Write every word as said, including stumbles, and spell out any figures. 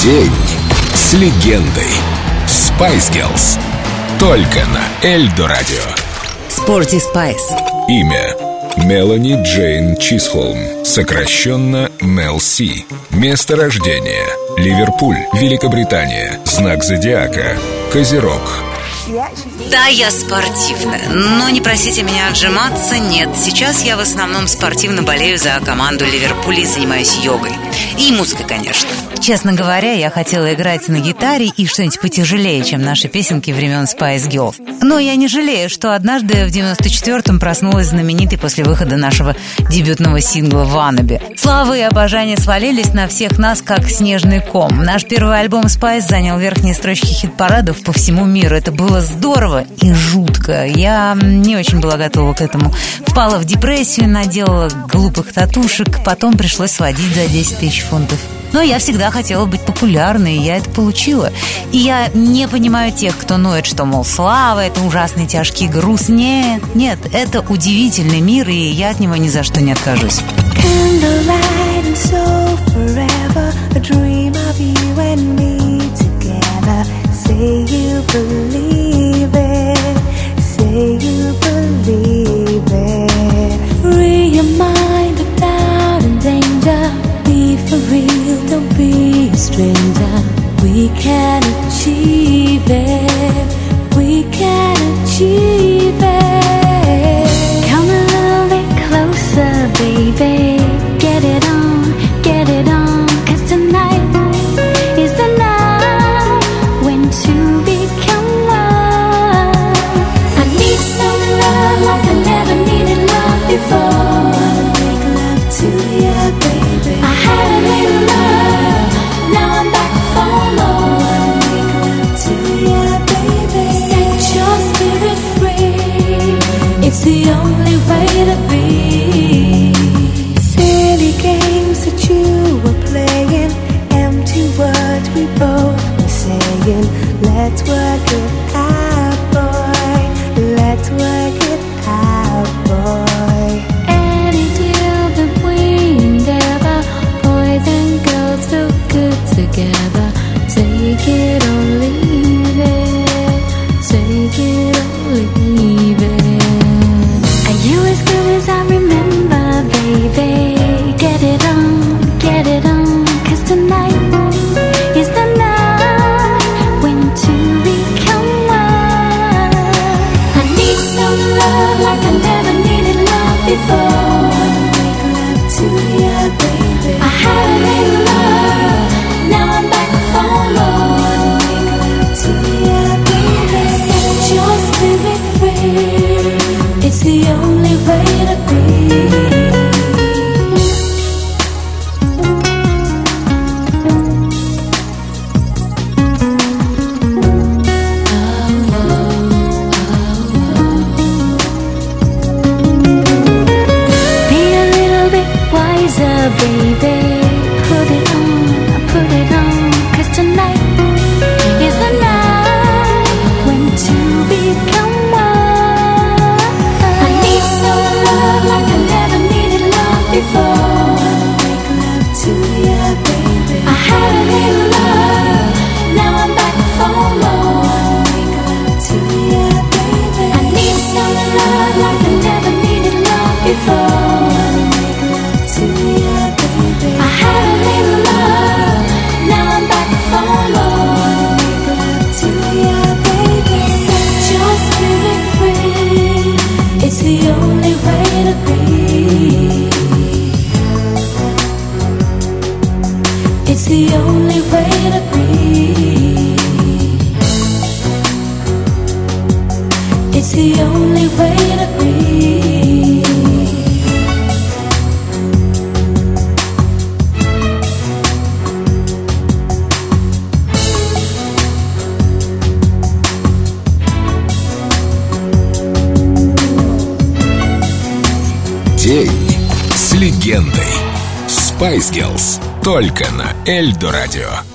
День с легендой. Spice Girls. Только на Эльдо Радио. Sporty Spice. Имя: Мелани Джейн Чисхолм, сокращенно Мел Си. Место рождения: Ливерпуль, Великобритания. Знак зодиака: Козерог. Да, я спортивная, но не просите меня отжиматься, нет. Сейчас я в основном спортивно болею за команду Ливерпуля и занимаюсь йогой. И музыкой, конечно. Честно говоря, я хотела играть на гитаре и что-нибудь потяжелее, чем наши песенки времен Spice Girls. Но я не жалею, что однажды в девяносто четвёртом проснулась знаменитой после выхода нашего дебютного сингла «Wannabe». Слава и обожание свалились на всех нас, как снежный ком. Наш первый альбом Spice занял верхние строчки хит-парадов по всему миру. Это было здорово и жутко. Я не очень была готова к этому. Впала в депрессию, наделала глупых татушек, потом пришлось сводить за десять тысяч фунтов. Но я всегда хотела быть популярной, и я это получила. И я не понимаю тех, кто ноет, что, мол, слава — это ужасный тяжкий груз. Нет, нет, это удивительный мир, и я от него ни за что не откажусь. Don't be a stranger. We can achieve it. We can achieve it. Come a little bit closer, baby. Get it on, get it on. 'Cause tonight is the night when two become one. I need some love like I never needed love before. Wanna make love to you, baby. I had a little love, now I'm back for more. Make love to you, baby. Set your spirit free. It's the only way to be. Silly games that you were playing, empty words we both were saying. Let's work it out, boy. Let's work it out, boy. Any deal that we endeavor, boys and girls feel good together. Take it or leave it. Take it or leave it. Are you as good as I remember, baby? Get it on, get it on. 'Cause tonight is the night when two become one. I need some love like I never needed love before. Wanna make love to you, baby. I had a little love, now I'm back for more. Wanna make love to you, baby. Set your spirit free. It's the only way to be. Baby, put it on, put it on. 'Cause tonight is the night when two become one. I need some love like I never needed love before. Wanna make love to you, baby. I had a little love, now I'm back for more. Wanna make love to you, baby. I need some love like I never needed love before. Wanna make love to you. I had a little love, now I'm back for more. Wanna make love to you, baby. Set your spirit free. It's the only way to be. It's the only way to be. It's the only way to be. День с легендой. Spice Girls. Только на Эльдо Радио.